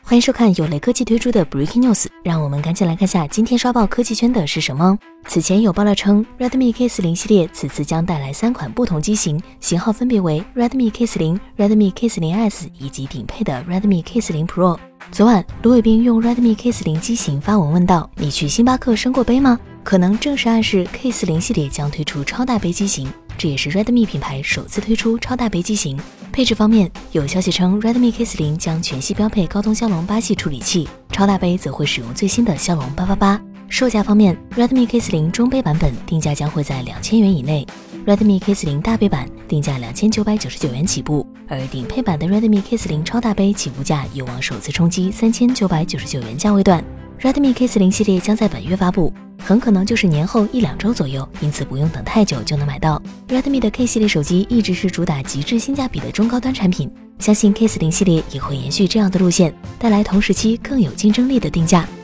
欢迎收看由雷科技推出的 Breaking News， 让我们赶紧来看下今天刷爆科技圈的是什么。此前有爆料称 Redmi K40 系列此次将带来3款不同机型，型号分别为 Redmi K40、Redmi K40S 以及顶配的 Redmi K40 Pro。昨晚，卢伟斌用 Redmi K40 机型发文问道：“你去星巴克升过杯吗？”可能正是暗示 K40 系列将推出超大杯机型，这也是 Redmi 品牌首次推出超大杯机型。配置方面，有消息称 Redmi K40 将全系标配高通骁龙8系处理器，超大杯则会使用最新的骁龙888。售价方面 ，Redmi K40 中杯版本定价将会在2000元以内 ，Redmi K40 大杯版定价2999元起步，而顶配版的 Redmi K40 超大杯起步价有望首次冲击3999元价位段。Redmi K40 系列将在本月发布，很可能就是年后1-2周左右，因此不用等太久就能买到。Redmi 的 K 系列手机一直是主打极致性价比的中高端产品，相信 K40 系列也会延续这样的路线，带来同时期更有竞争力的定价。